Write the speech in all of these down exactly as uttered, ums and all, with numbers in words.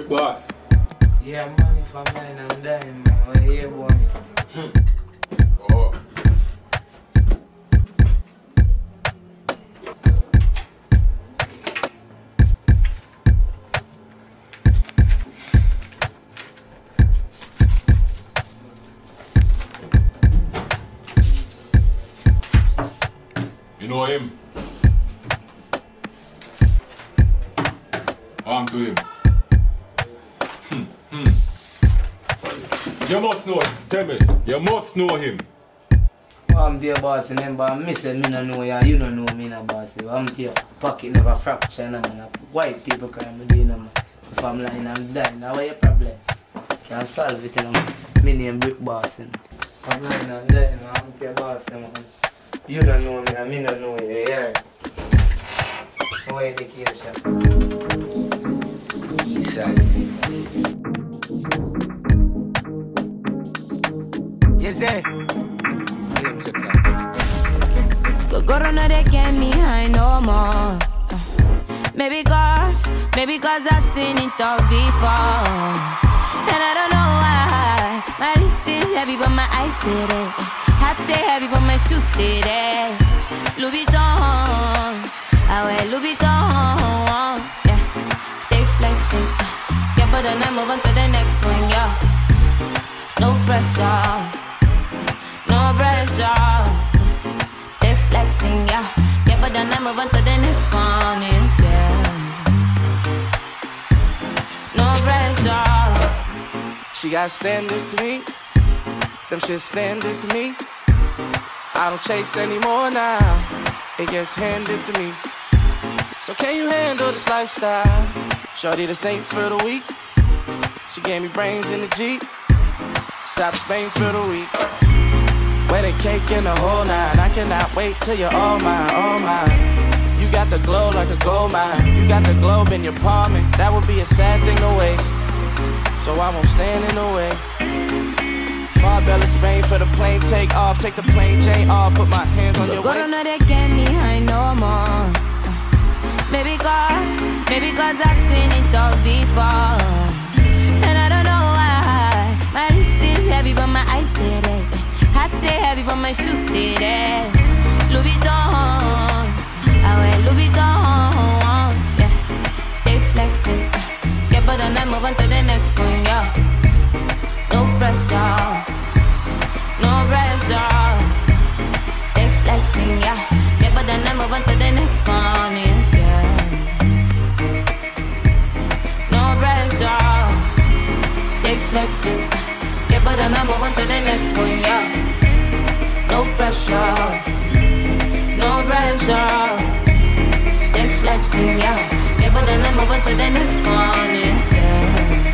Brick Boss. Yeah, money for mine, I'm dying, man. I hear money. Hmm. Oh. You know him? Arm to him. Hmm, hmm. You must know him. Tell me. You must know him. I'm there, boss, and then, but I miss it, me no know ya. You don't know me, no, boss. I'm there, pocket never fracture, no, man. White people crime, me doing, man. If I'm lying, I'm dying. Now, what your problem? Can't solve it, you know. Me name Brick Boss, and I'm lying, I'm dying, man. I'm there, boss, man. You don't know me, and me don't know you, yeah. No education. Eastside. Yes, sir. Go go don't know they get me high no more. Uh, maybe cause, maybe cause I've seen it all before. And I don't know why. My wrist is heavy but my eyes stay there. Hat stay heavy but my shoes stay there. Louis Vuittons, I wear Louis Vuittons. Yeah, stay flexing. Uh, yeah, but then I move on to the next one, yeah. No pressure, no pressure. Stay flexing, yeah. Yeah, but then I move on to the next one, yeah. No pressure. She got standards to me. Them shit standard to me. I don't chase anymore now. It gets handed to me. So can you handle this lifestyle? Shorty, this ain't for the weak. She gave me brains in the Jeep. South Spain for the week. Wedding cake in the whole nine. I cannot wait till you're all mine, all mine. You got the glow like a gold mine. You got the globe in your palm, and that would be a sad thing to waste. So I won't stand in the way. Marbella, Spain for the plane take off. Take the plane chain off. Put my hands on your waist. Go don't know they get me high no more. Maybe cause, maybe cause I've seen it all before. And I don't know why. My wrist is heavy but my eyes stay there. Hat stay heavy but my shoes stay there. Louis Vuittons, I wear Louis Vuittons. Yeah, stay flexing. Yeah, but then I move on to the next one, yeah. No pressure, no pressure. Stay flexing, yeah. Yeah, but then I move on to the next one, yeah. No pressure. Stay flexing. Yeah, but then I move on to the next one, yeah. No pressure, no pressure. Stay flexing, yeah. Yeah, but then I move on to the next one, yeah.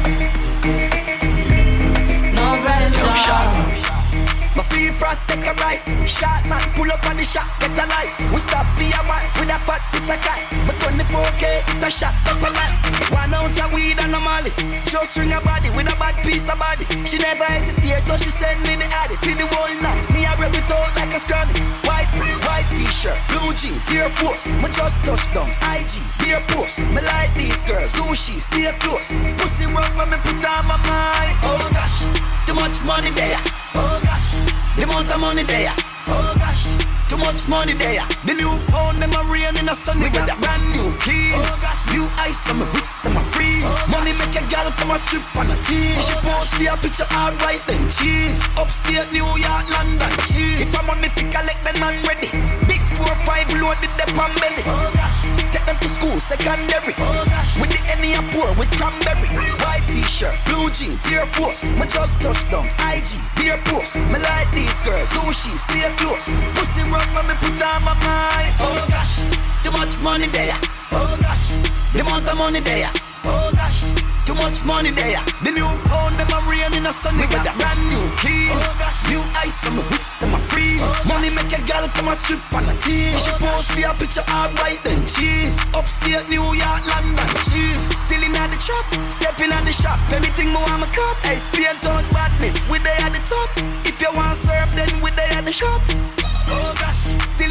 No pressure. My feel frost, take a right. Shot man, pull up on the shot, get a light. We stop via one with a fat piece of cat. But twenty-four K, it a shot up a light. One ounce of weed and a molly. Just ring a body with a bad piece of body. She never hesitates, so she send me the addy. Till the whole night, me a rub it out like a scrummy. White, white t-shirt, blue jeans, Air Force. Me just touch down, I G, beer post. Me like these girls, sushi, stay close. Pussy run when me put on my mind. Oh gosh, too much money there. Oh gosh, the amount of money there. Oh gosh, too much money there. The new pound, them a rain in the sun. We got brand new keys. Oh gosh, new ice on my wrist, them a freeze. Oh money make a girl come a strip on a tease. Oh she post me a picture, alright then cheese. Upstate New York, London, cheese. If I'm on me fi collect, then man ready. Big four five loaded the pan belly. Oh gosh, take them to school, secondary. Oh gosh, with the Henny a pour with cranberry. White t-shirt, blue jeans, Air Force. Me just touch down, I G, beer post. Me like these girls, sushi, stay close. Pussy run when me put on my mind. Oh gosh, too much money there. Oh gosh, the amount of money there. Oh gosh, too much money there. The new pound, them a rain in the sun. We got brand new keys. Oh gosh, new ice on my wrist, them a freeze. Oh money make a girl come a strip on a tease. She post me a picture, alright then cheese. Upstate New York, London, cheese. Still in at the trap, stepping at the shop. Anything more I'm a cop. I spin town badness, we they at the top. If you want serve, then we they at the shop. Oh gosh, still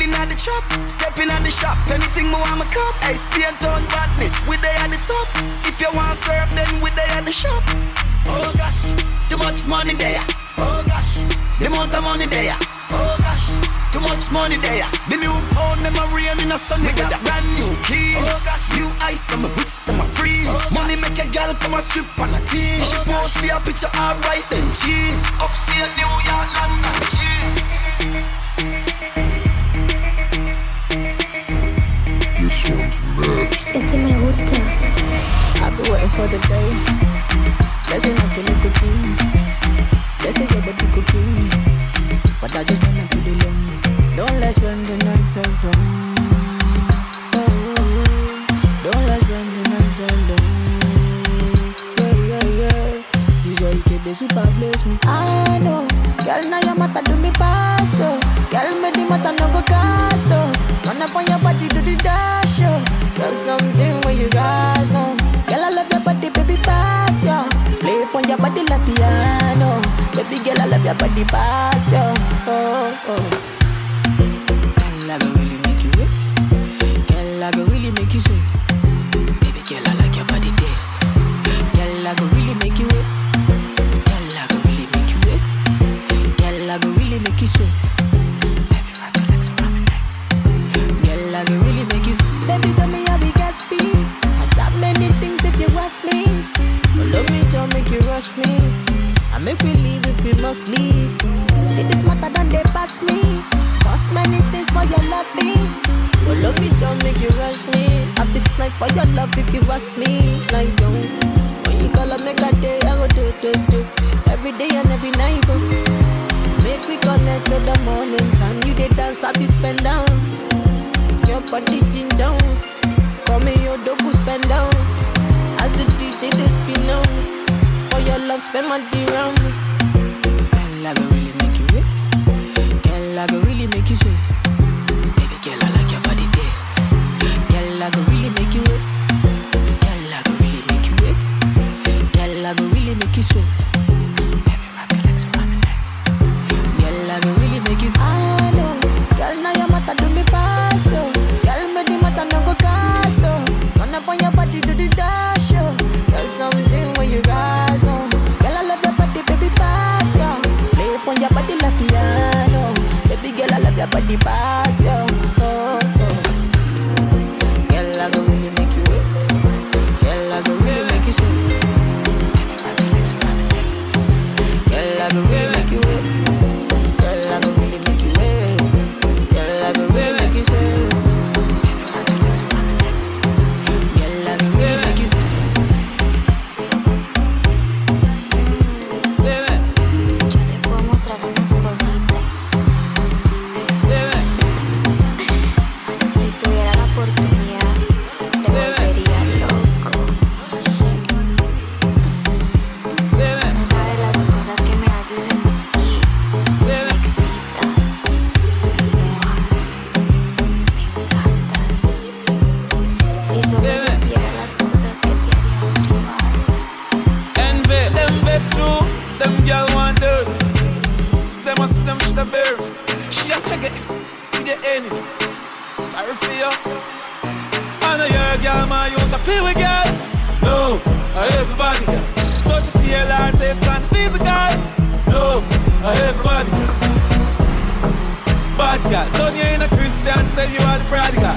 rolling at the trap, stepping at the shop, anything more I'm a cop. Hey, Spain town badness, we they at the top. If you want serve, then we they at the shop. Oh gosh, too much money there. Oh gosh, the amount of money there. Oh gosh, too much money there. The new pound, them a rain in a sunny weather. Brand new keys, oh gosh, new ice on my wrist and my freeze. Oh money make a girl come and strip on a team. Oh she post me a picture, alright then cheese. Upstate New York, London, cheese. This one's next. Este me gusta. I've been waiting for the day. Blessing like a little king. Blessing your body cooking. But I just wanna do the long. Don't let's spend the night alone. Oh, don't let's spend the night alone. Yeah, yeah, yeah. This way you can be super bless me. I know. Girl, now your mata do me pass. Girl, me the mata no go cast. Run up on your body, do the dash. Girl, something where you guys know. Girl, I love your body, baby, pass, yo. Play for your body like piano. Baby girl, I love your body, pass, yo. Oh, oh. Girl, I go really make you wet. Girl, I go really make you sweat. Baby girl, I like your body dead. Girl, I go really make you wet. Girl, I go really make you wet. Girl, I go really make you sweat. Baby, rock your legs around me neck. Girl, I go really make you. Baby, tell me how we got speed. I got many things if you ask me. But love me, don't make you rush me. I make we leave if we must leave. See this matter done they pass me. Cost many things for your loving. But love me, don't make you rush me. Have this night for your love if you ask me. Like don't. When you call up, make a day, I go do, do, do. Every day and every night, oh. Make we connect till the morning time. You they dance, I be spend down. Your body ginger. Call me your dogu spend down. As the D J they spin on. For your love spend my D round. Girl, I go really make you wet. Girl, I go really make you sweat. Baby girl, I like your body dead. Girl, I go really make you wet. Girl, I go really make you wet. Girl, I go really make you sweat. Baby, wrap your legs around the neck. Girl, I go really make you. I know. Girl, now your mata do me pass. Girl, me the mata no go cast. Run up on your body, do the dash. Girl, something where you guys know. Girl, I love your body, baby, pass, yo. Play upon your body like piano. Baby girl, I love your body, pass, yo. Oh, oh. Girl, I go really make you wet. Girl, I go really make you sweat. Baby, wrap your legs around the neck. Girl, I go really make you wet. Girl, I go really make you wet. Girl, I go really make you sweat. Baby, wrap your legs around the neck. Girl, I go really make you. Yo te puedo mostrar unas cositas. Si tuviera la oportunidad, te volvería loco. No sabes las cosas que me haces sentir. Me excitas, me mojas, me encantas. Si solo supiera las cosas que te haría privado. Envy, them vex true, them girl want dirt. Them must them should have bear. She just check it with the enemy. Sorry for you. I know you're a girl, man, you want to feel with girl. No, I everybody girl. So she feel her taste and physical. No, I everybody girl. Bad girl, don't you ain't a Christian, say you are the prodigal.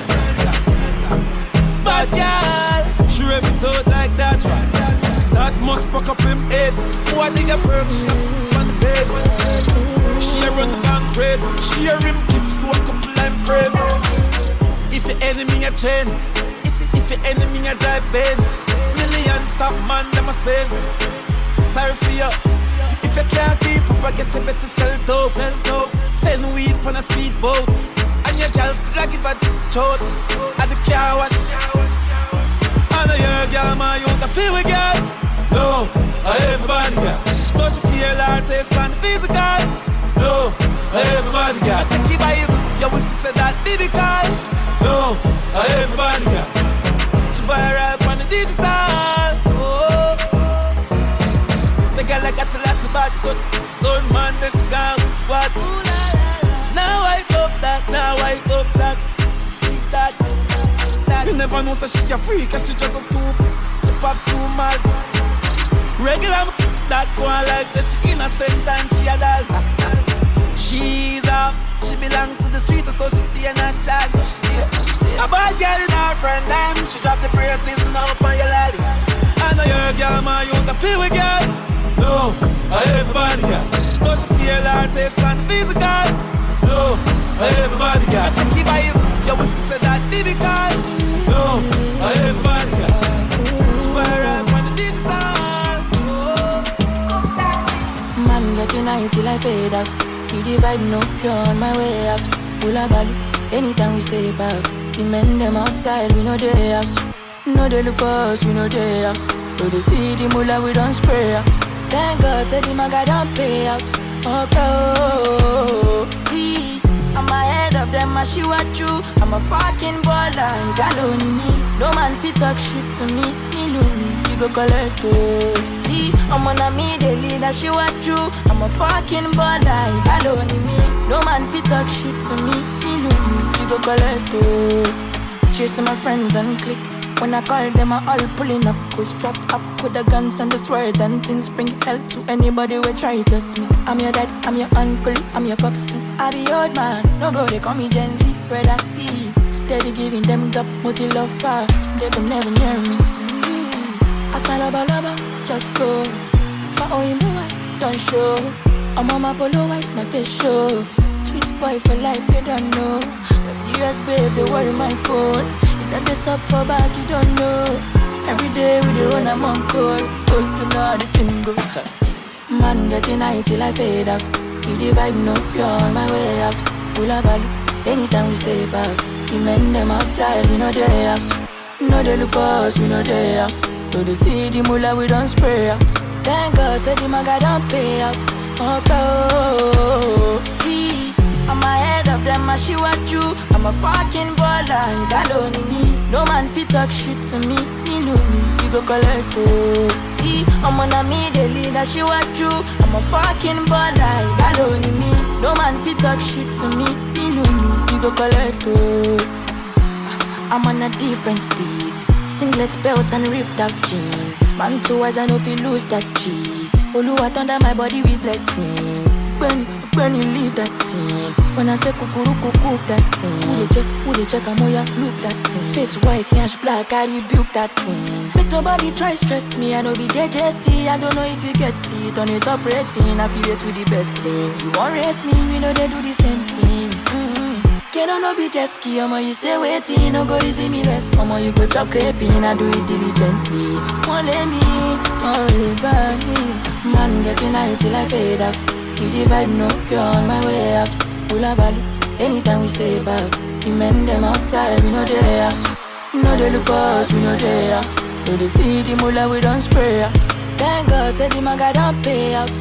Bad girl, she rip it out like that right. That must fuck up him head. What nigga perk shit on the bed. She a run the bank straight. She a rim gifts to a couple I'm afraid. If your enemy a chain, if your enemy a drive Benz, millions top man them a spend. Sorry for you. If you can't keep up, I guess you better sell dope. Sell dope. Send weed on a speedboat. And your girl still a give a chote at the car wash. I know you're a girl, man, you want to feel with girl. No, I everybody girl. So she feel her taste and physical. No, I everybody girl. I check your Bible, your whistle said that baby call. No, I everybody girl. She viral on the digital. Oh, the girl I got a lot of body, so don't man that she gone with squad. Now I fuck that, now I fuck. never know so she a freak, cause she juggle too, she pop too mad. Regular that go on like that she innocent and she a doll. She's up, she belongs to the street, so she stay in her charge, so she stay. A bad girl in her friend time, she drop the braces now up on your lolly. I know you're a girl, man, you the feel with girl. No, I everybody girl. So she feel her taste man physical. No, I everybody girl. She keep by you, your whistle said that baby call. No, I everybody girl. She fire up on the digital. Man, get tonight till I fade out. Keep the vibe no pure on my way out. Pull a ball, anytime we step out. The men them outside, we know they house. No they look for us, we know they house. So they see the mullah, we don't spray out. Thank God, said the maga don't pay out. Okay, see, I'm ahead of them, I shoot at you. I'm a fucking baller, you got only me. No man fit talk shit to me, me lonely, you go collect oh. See, I'm on a me, they lead a shoot at you. I'm a fucking baller, you got only me. No man fit talk shit to me, me lonely, you go collect oh. Cheers to my friends and click. When I call them, I all pulling up. We strapped up with the guns and the swords and things. Bring hell to anybody who try to test me. I'm your dad, I'm your uncle, I'm your popsy. I be old man, no go, they call me Gen Z. Brother C, steady giving them up, what you love for. They can never near me. I smile lava lava, just go. My own boy, don't show. I'm on my polo white, my face show. Sweet boy for life, you don't know. The serious babe, they worry my phone. That this up for back, you don't know. Every day we dey run I'm on call. Supposed to know how the thing go. Man, get tonight till I fade out. If the vibe no pure on my way out. Pull a ball, anytime we step out. The men them outside, we know they house. No they look for us, we know they house. So they see the mullah, we don't spray out. Thank God, said the maga don't pay out. Okay, see, I'm ahead of them, I shoot at you. I'm a fucking baller, you got only me. No man fit talk shit to me, me know me, you go collect oh. See, I'm on a me, they lead a shoot at you. I'm a fucking baller, you got only me. No man fit talk shit to me, me know me, you go collect oh. I'm on a different steez. Singlet belt and ripped out jeans. Man two eyes, I know if you lose that cheese. Oluwa thunder my body with blessings. When, when you leave that thing. When I say kukuru kuku that thing. Who they check, who they check, I'm ya look that thing. Face white, yash black, I rebuke that thing. Make nobody try stress me, I know be J J C. I don't know if you get it. On the top rating, affiliate with the best team. You won't race me, we know they do the same thing. Mm-hmm. Can't no be jet ski, I'ma you say waiting, no go easy me less. I'ma you go chop creping, I do it diligently. Won't let me, only by me. Man, get tonight till I fade out. If the vibe no pure on my way out. Pull a ball, anytime we step out. The men them outside, we know they house. No they look for us, we know they house. So they see the mullah, we don't spray out. Thank God, said the maga don't pay out.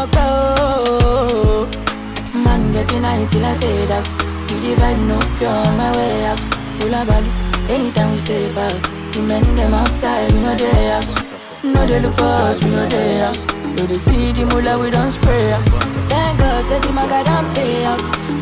Okay, man, get tonight till I fade out. If the vibe no pure on my way out. Pull a ball, anytime we step out. The men them outside, we know they house. No they look for us, we know they house. So they see the mullah, we don't spray out. Thank God, said the maga don't pay out.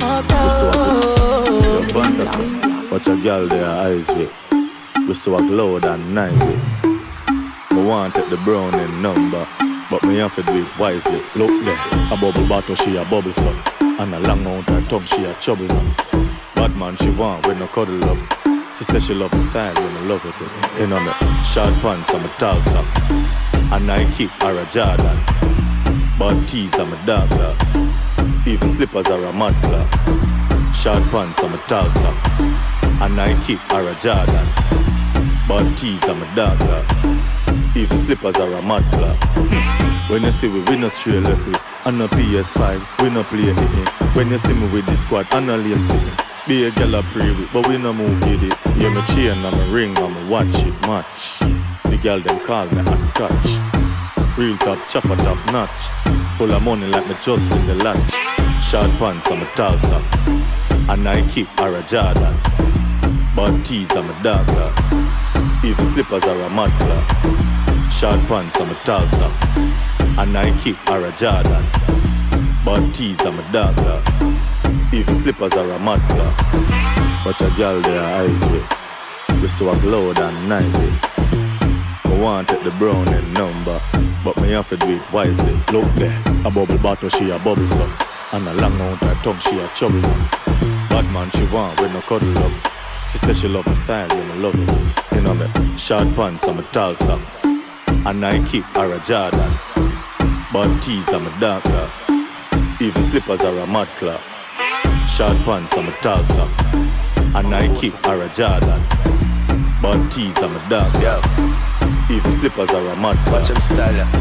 Okay. Watch a girl there, eyes with. We so glow and nice with. I want to take the brown and number, but me have to do it wisely. Look there, a bubble bottle, she a bubble some. And a long out her tongue, she a trouble man. Bad man she want when no cuddle up. She says she love my style when I love it. You know me, short pants and my tall socks. A Nike or a Jordans. Bad tees and my dark glass. Even slippers are a mad glass. Short pants and my tall socks. A Nike or a Jordans. Bad tees and my dark glass. Even slippers are a mad glass. When you see we, we no straight left with. On a P S five, we no play it. When you see me with the squad, I no lame sitting. Be a girl I pray with, but we no move with it. Yeah, my chain and my ring and my watch it match. The girl them call me a scotch. Real top, chopper top notch. Full of money like me just in the latch. Short pants and my tall socks. A Nike or a Jordans. Bad tees and my dark glass. Even slippers are a mad glass. Short pants and my tall socks. A Nike or a Jordans. Bad tees and my dark glass. Even slippers are a mad glass. Watch a girl there eyes with. We so a glow and nice it. I want take the brown and number, but me have to do it wisely. Look there, a bubble bottle she a bubble some, and a long out her tongue she a chubble one. Bad man she want with no cuddle up. She say she love my style, you know love it. You know me, short pants and my tall socks, and Nike or a Jordans. Bad tees and my dark glass, even slippers are a mad class. Short pants and my tall socks, and Nike or a Jordans. Bad tees and my dark glass, even slippers are a mad class. Watch him style ya.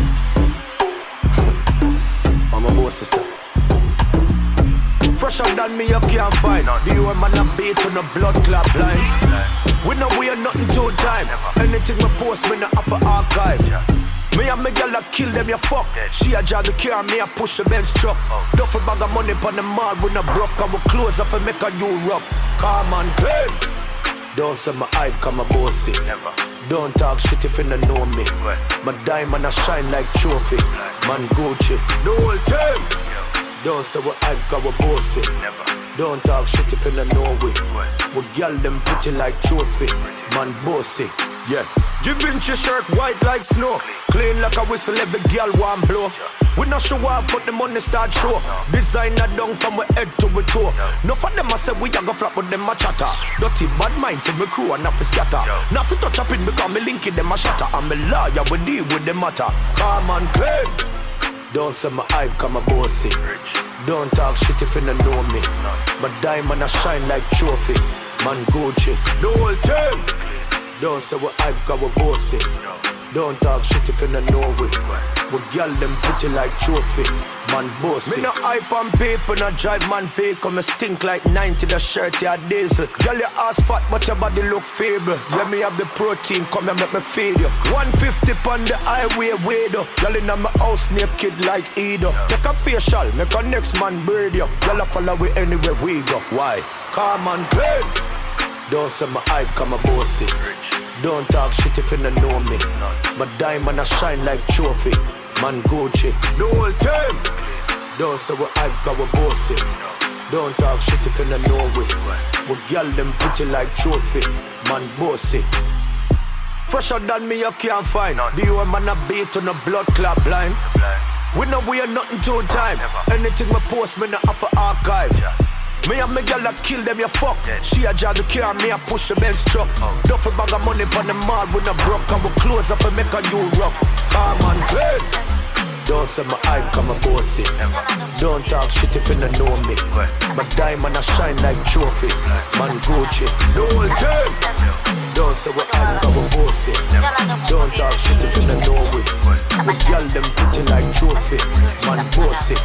I'm a boss sister. Fresher than me you can't find. The old man a beat on a blood clot line. We know we are nothing to time. Anything we post me no offer archive. Me and me girl a kill them, you fuck. She a drive the car, me a push the Benz truck. Duffel bag of money pon the mall, we no broke. And we close off and make a Europe. Come on, play. Don't say my hype, come a bossy. Don't talk shit if you don't know me. My diamond a shine like trophy. Man Gucci, the whole time. Don't say what hype, come a bossy. Don't talk shit if you don't know we. We girl them pretty like trophy. Man bossy, yeah. Givenchy shirt white like snow. Clean like a whistle, every girl want blow. We not show up, but the money start show. Designer down from we head to we toe. No for them I say we a go flap, but them a chatter. Dirty bad minds in me crew and not for scatter. Not for touch up it because me link it them a shatter. I'm a lawyer, we deal with the matter. Come on, claim. Don't say my hype, come a bossy. Don't talk shit if you don't know me. My diamond a shine like trophy. Man Gucci, the whole time. Don't say what hype, cause we bossy. Don't talk shit if you don't know we. We girl them pretty like trophy. Man bossy. Me no hype on paper, no drive man fake. Come me stink like ninety, the shirt ya diesel. Girl your ass fat but your body look feeble. Yeah me have the protein, come and make me feed you. one fifty on the highway weirdo. Girl in my house naked like Edo. Take a facial, make a next man braid you. Girl a follow we anywhere we go. Why? Come on play. Don't say my hype, come a bossy. Don't talk shit if you don't know me. My diamond a shine like trophy. Man Gucci, the whole time. Don't say what hype, cause we bossy. Don't talk shit if you don't know we. We girl them pretty like trophy. Man bossy. Fresher than me you can't find. The old man a beat on a blood clot line. We know we are nothing to time. Anything we post me no offer archive. Me and me girl a kill them, you fuck. She a drive the car, me a push the Benz truck. Duffel bag of money pon the mall, we no broke. And we close off and make a Europe. Come on, play. Don't say my hype, come a bossy. Don't talk shit if you don't know me. My diamond a shine like trophy. Man Gucci, the whole time. Don't say what hype, come a bossy. Don't talk shit if you don't know me. We girl them pretty like trophy. Man bossy.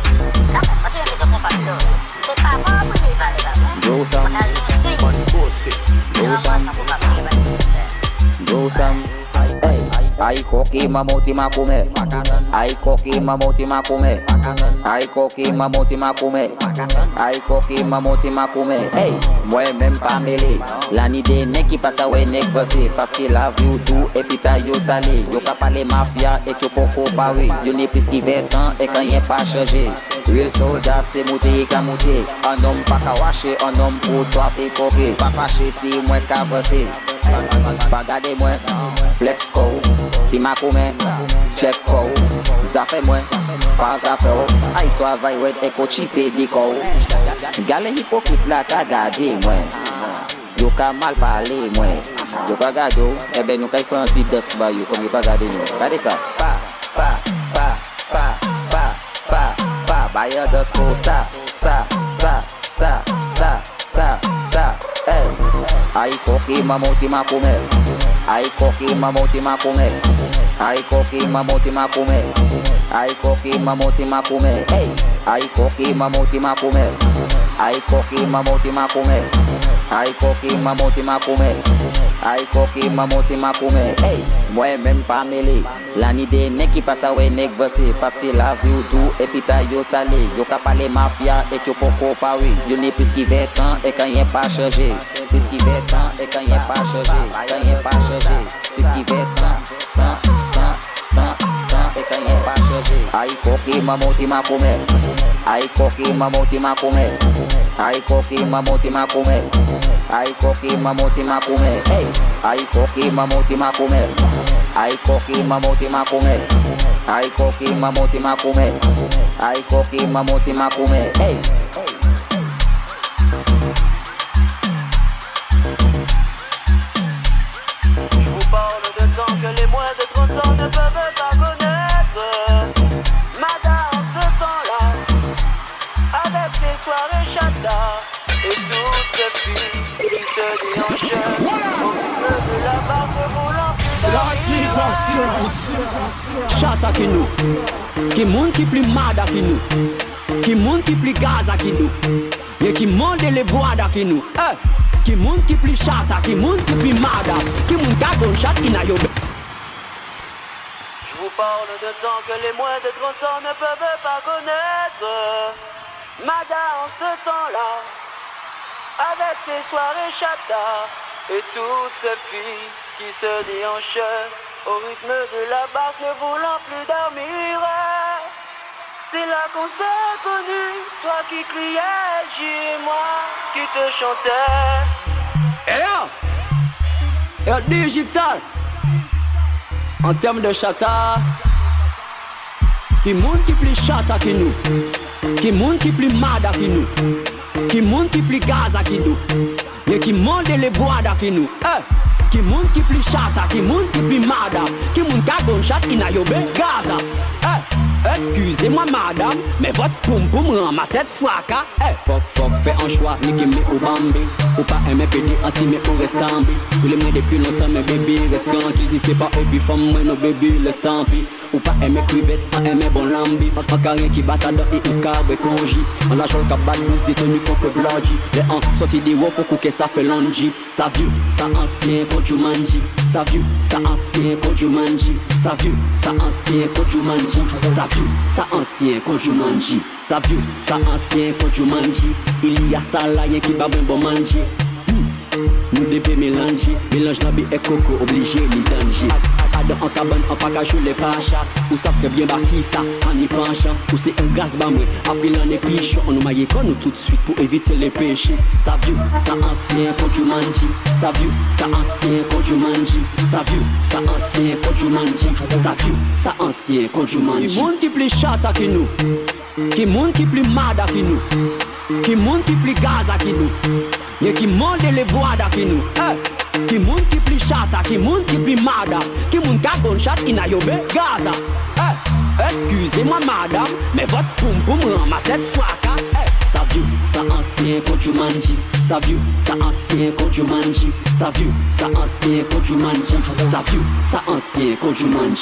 Grow some, man bossy. grow some, grow some. Hey, I cocky mamoti makume. I cocky mamoti makume. I cocky mamoti makume. I cocky mamoti makume. Hey, moi-même pas mêlé. L'année des nèg qui passe à ouais nèg versé. Parce que la vie ou tout et puis ta yo salé. Yo ka parler mafia et que poko paré. Yo n'est plus qui fait temps et quand y'a pas changé. Real soldat c'est monter et ka monter. Un homme pas ka wacher, un homme pour toi et coquer. Pas fâché si moi ka passer. Pas garder moi, flex co, ti ma koumen, check co, zafè moi, pas zafè ou, ay toi vay wet e ko chipe di ko. Gale hypocrite la ka gade moi, yo ka mal parler moi, yo ka gade ou, e ben nou ka fè un ti dos ba yo, comme yo ka gade nou. Gade ça, pa, pa, pa, pa, pa, pa, pa, ba yo dos ko sa, sa, sa, sa, sa, sa, sa, hey. Ay cocky mamoti makume. Ay cocky mamoti makume. Ay cocky mamoti makume. Ay cocky mamoti makume. Hey, ay cocky mamoti makume. Ay cocky mamoti makume. Ay cocky mamoti makume. Ay cocky mamoti makume. Hey, moi-même pas mêlé. L'année des nèg qui passe à ouais nèg versé. Parce que la vie ou tout et puis ta yo salé. Yo ka parler mafia et que poko paré. Yo n'est plus qui fait temps et quand y'a pas changé. Puisqu'il fait temps et quand y'a pas changé. Quand y'a pas changé. Puisqu'il fait temps, sans, sans, sans, sans et quand y'a pas changé. Aïe coquille mamoti makume. Aïe coquille mamoti makume. Aïe coquille mamoti makume. Ai koki mamoti makume. Hey, ai koki mamoti makume. Ai koki mamoti makume. Ai koki mamoti makume. Ai koki mamoti makume. Hey. Je vous parle de temps que les moins de trente ans ne peuvent pas connaître. Madame, ce temps-là, avec les soirées chata et toutes ces filles qui se déhanchent au rythme de la barque roulant plus Lord Jesus Christ. Chata qui nous, qui monde qui plus mada qui nous, qui monde qui plus gaza qui nous, et qui monde les bois qui nous. Eh. Qui monde qui plus chata, qui monde qui plus mada, qui monde qui a gunshot in a yo. Je vous parle de temps que les moins de trente ans ne peuvent pas connaître. Madame, ce temps-là, avec ses soirées chata et toutes ces filles qui se déhanchent au rythme de la barque ne voulant plus dormir. C'est là qu'on s'est connus, toi qui criais, J et moi qui te chantais. Eh yo, yo digital. En termes de chata, qui monde qui plus chata que nous, qui monde qui plus mada que nous, qui monde qui plus gaza que nous, et qui monde les bois que nous. Eh, qui monde qui plus chata, qui monde qui plus mada, qui monde qui a gunshot in a yo be Gaza. Eh. Excusez-moi madame, mais votre poum poum rend ma tête fracas. Hey, fuck fuck, fais un choix, ni gimme ou bambi. Ou pas aimer pédé ainsi mais ou reste en bi. Ou les mains depuis longtemps mais baby reste tranquille. Si c'est pas eux puis femme moi no baby laisse tant pis. Ou pas aimer crevette, en aimer bon lambi. En carré qui bat à dans et ou carré conji. En la chole cap bat douce détenu contre blodgy. Les ans sorti des wop pour que ça fait longi. Ça vieux, ça ancien quand tu manges. Ça vieux, ça ancien quand tu manges. Ça vieux, ça ancien quand tu manges. Ça vieux, ça ancien quand tu manges. Ça vieux, ça ancien quand tu manges. Il y a ça là, y'a qui va bon manger. Nous devons mélanger, mélange nabi et coco, obligé ni danger. Adam en cabane, en package les pachas. Ou savent très bien par qui ça, en y penchant. Ou c'est un gaz bamoué, après l'an épichon. On nous maille con nous tout de suite pour éviter les péchés. Ça vieux, ça ancien quand tu manges. Ça vieux, ça ancien quand tu manges. Ça vieux, ça ancien quand tu manges. Ça vieux, ça ancien quand tu manges. Qui monde qui plus chata que nous, qui monde qui plus mada que nous, qui monde qui plus gaza que nous. Y'a qui monde les bois qui nous. Eh, qui monde qui plus chata, qui monde qui plus mada, qui monde qui a gunshot in a yo be Gaza. Eh, excusez-moi madame, mais votre poum poum rend ma tête fracas. Eh, ça vieux, ça ancien quand tu manges. Ça vieux, ça ancien quand tu manges. Ça vieux, ça ancien quand tu manges. Ça vieux, ça ancien quand tu manges.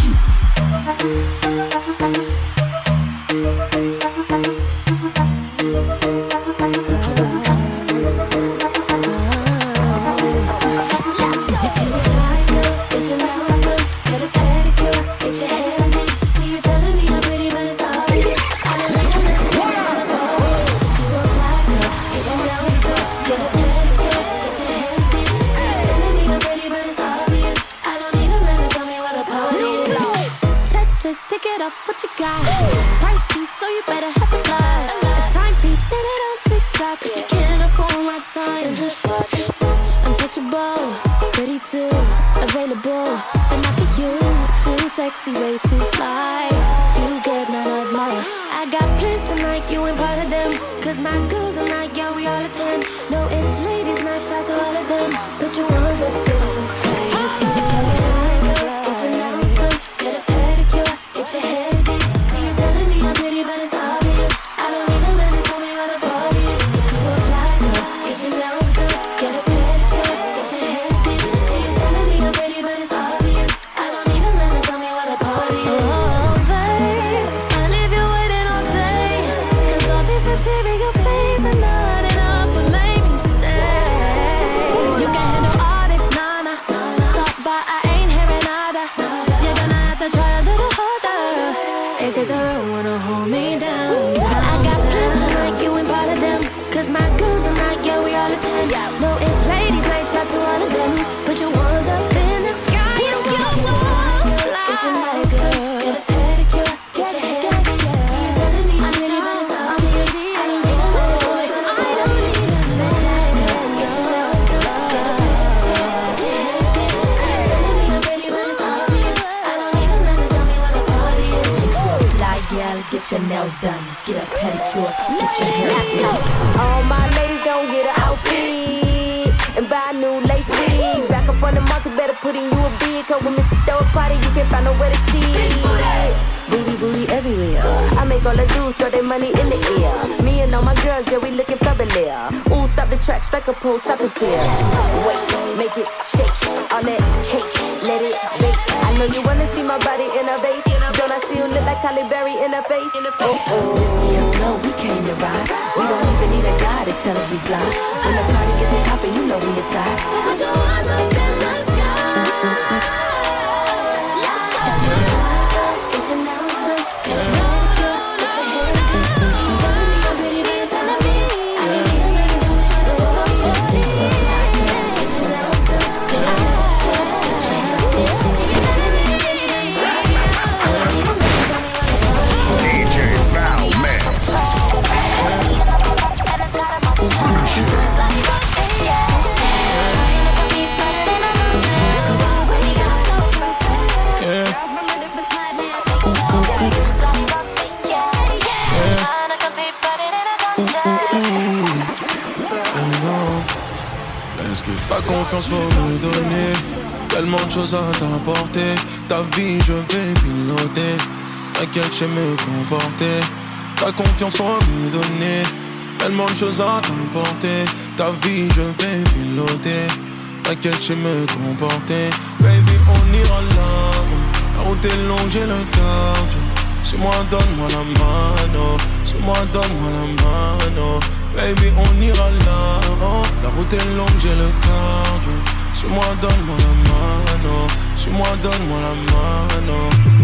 What you got? Pricey, so you better have a lot. A timepiece, set it on TikTok. If you can't afford my time, then just watch. Untouchable, pretty too, available, but not for you. Too sexy, way too fly. You get none of mine. I got plans tonight, you ain't part of them. Cause my girls are not, yeah, we all attend. No, it's ladies, night, shout to all of them. Put your ones up in the sky. If you feel get your nails done, get a pedicure, get your hair. Your face are not enough to make me stay. You can handle all this nonsense. nails done, get a pedicure, get your hair done. All my ladies gon' get an outfit and buy new lace wigs. Back up on the market, better put in you a bid. Cause when Missus throw a party, you can't find nowhere to sit. Booty, booty everywhere. I make all the dudes throw their money in the air. Me and all my girls, yeah, we looking fabulous. Ooh, stop the track, strike a pose, stop it still. Wait, make it shake, all that cake, let it bake. I know you wanna see my body in a vase. Don't I still look like Halle Berry in a face? Oh, oh. Missy and Flo, we came to ride. We don't even need a guy to tell us we fly. When the party get the poppin', you know we inside. Put your eyes up in the sky. Let's go. Get your nails done. Get your nails done. Get your hair done. Find me a pretty dance on the beat. I need a little bit of love. Get your nails done. Get your hair done. D J Val Man. Ta confiance faut me donner. Tellement de choses à t'apporter. Ta vie je vais piloter. T'inquiète, je sais me comporter. Ta confiance faut me donner. Tellement de choses à t'apporter. Ta vie je vais piloter. T'inquiète, je sais me comporter. Baby, on ira là. La route est longue, j'ai le cardio. Suis-moi, donne-moi la mano. Suis-moi, donne-moi la mano. Baby, on ira là. Oh, la route est longue, j'ai le cardio. Suis-moi, donne-moi la mano. Suis-moi, donne-moi la mano.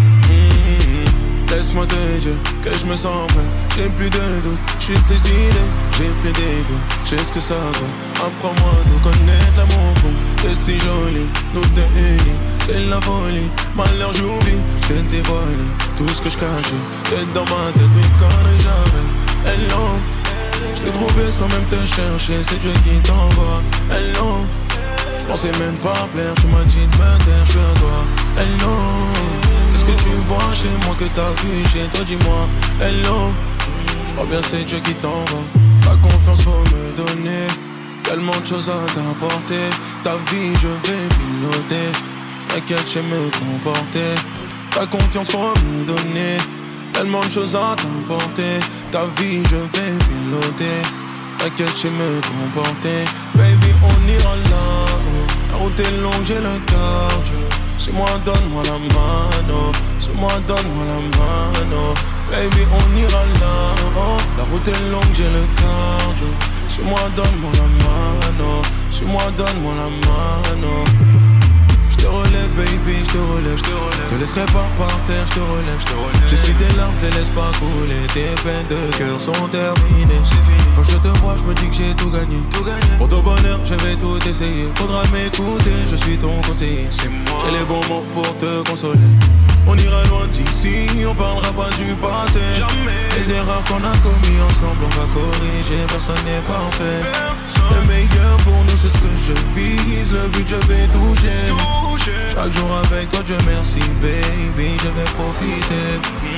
Mm-hmm. Laisse-moi te dire que je me sens prêt. J'ai plus de doute, je suis décidé. J'ai pris des goûts, je sais ce que ça vaut. Apprends-moi de connaître l'amour fou. T'es si jolie, nous deux unis. C'est la folie, malheur j'oublie. Je t'ai dévoilé tout ce que je cachais. T'es dans ma tête, mais conneries jamais. Hello. Je t'ai trouvé sans même te chercher, c'est Dieu qui t'envoie. Hello. Je pensais même pas plaire, tu m'as dit de me taire, je suis à toi. Hello. Qu'est-ce que tu vois chez moi que t'as vu chez toi, dis-moi. Hello. Je crois bien c'est Dieu qui t'envoie. Ta confiance faut me donner. Tellement de choses à t'apporter. Ta vie je vais piloter. T'inquiète, je sais me comporter. Ta confiance faut me donner. Tellement de choses à t'apporter. Ta vie je vais piloter. T'inquiète, je sais me comporter. Baby, on ira là. La route est longue, j'ai le cardio. Suis-moi, donne-moi la mano. Suis-moi, donne-moi la mano. Baby, on ira là. Oh, la route est longue, j'ai le cardio. Suis-moi, donne-moi la mano. Suis-moi, donne-moi la mano. Je te relève, baby, je te relève. Je te laisserai pas par terre, je te relève. Je suis tes larmes, je les laisse pas couler. Tes peines de cœur sont terminées. Quand je te vois, je me dis que j'ai tout gagné. Pour ton bonheur, je vais tout essayer. Faudra m'écouter, je suis ton conseiller. J'ai les bons mots pour te consoler. On ira loin d'ici, on parlera pas du passé. Les erreurs qu'on a commis ensemble, on va corriger. Personne n'est parfait. Le meilleur pour nous, c'est ce que je vise. Le but, je vais toucher. Chaque jour avec toi, Dieu merci, baby, je vais profiter.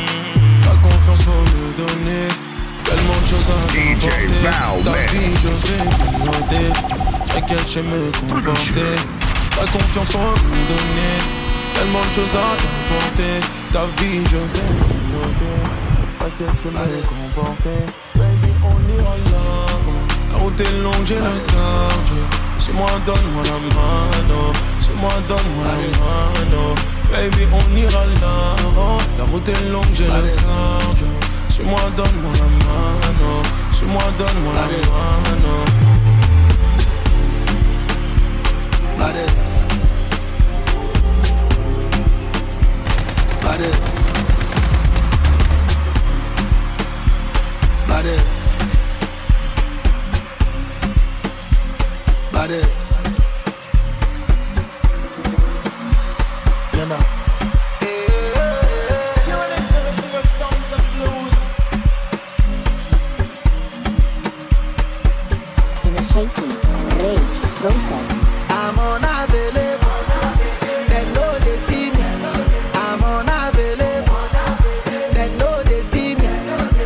Ta confiance faut me donner. Tellement de choses à t'apporter. Ta vie, je vais piloter. T'inquiète, je sais me comporter. Ta confiance faut me donner. Tellement de choses à t'apporter. Ta vie, je vais piloter. T'inquiète, je sais me comporter. Baby, on ira là. La route est longue, j'ai le cardio. Suis-moi, donne-moi la mano. Suis-moi, donne-moi la mano. Baby, on ira là. Oh, la route est longue, j'ai le cardio. Suis-moi, donne-moi la mano. Suis-moi, donne-moi la mano. Allez. Allez. Allez. Allez. You know. Initiating rage process. I'm unavailable. They know they see me. I'm unavailable. They know they see me.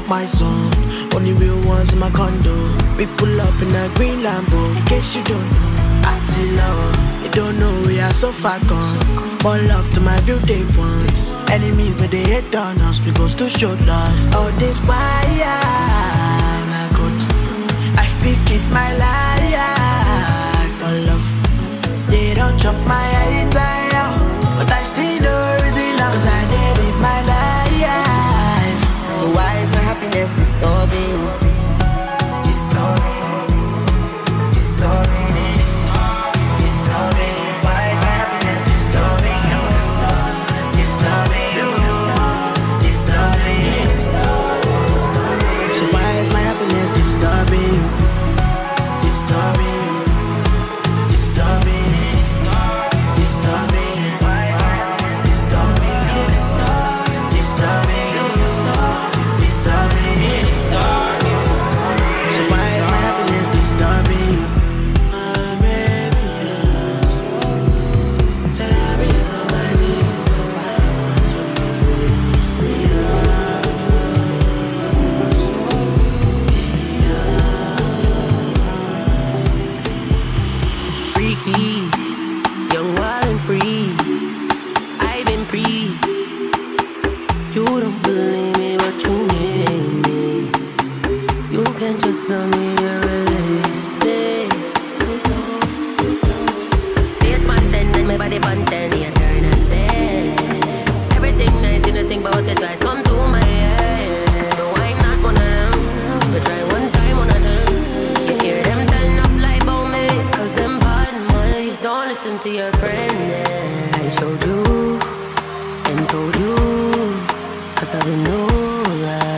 fuck my son. Only real ones in my condo. We pull up in a green Lambo. In case you don't know, I tell love. You don't know we are so far gone. More love to my view they want. Enemies but they hate on us. We goes to show love. All this why not good. I think it my life for love. They don't chop my head down, but I still know reason now. Cause I did live my life. So why is my happiness disturbing you? Disturbing, disturbing, disturbing. Why is my happiness disturbing you? Disturbing you, disturbing, disturbing. So why is my happiness disturbing you? Disturbing, disturbing, disturbing. Why is my happiness disturbing you? Disturbing, disturbing, disturbing. So why is my happiness disturbing you? My baby, said I be nobody. Freaky, young, wild and free. I've been free. You don't believe me, but you need me. You can just love me or release me. This mountain and my body mountain, you turn and bend. Everything nice, you don't think about it twice. Come to my head. No, I'm not one of them. But try one time, one of them. You hear them turn up like about me. Cause them bad minds don't listen to your friend. Yeah. I showed you and told you. Cause I didn't know that.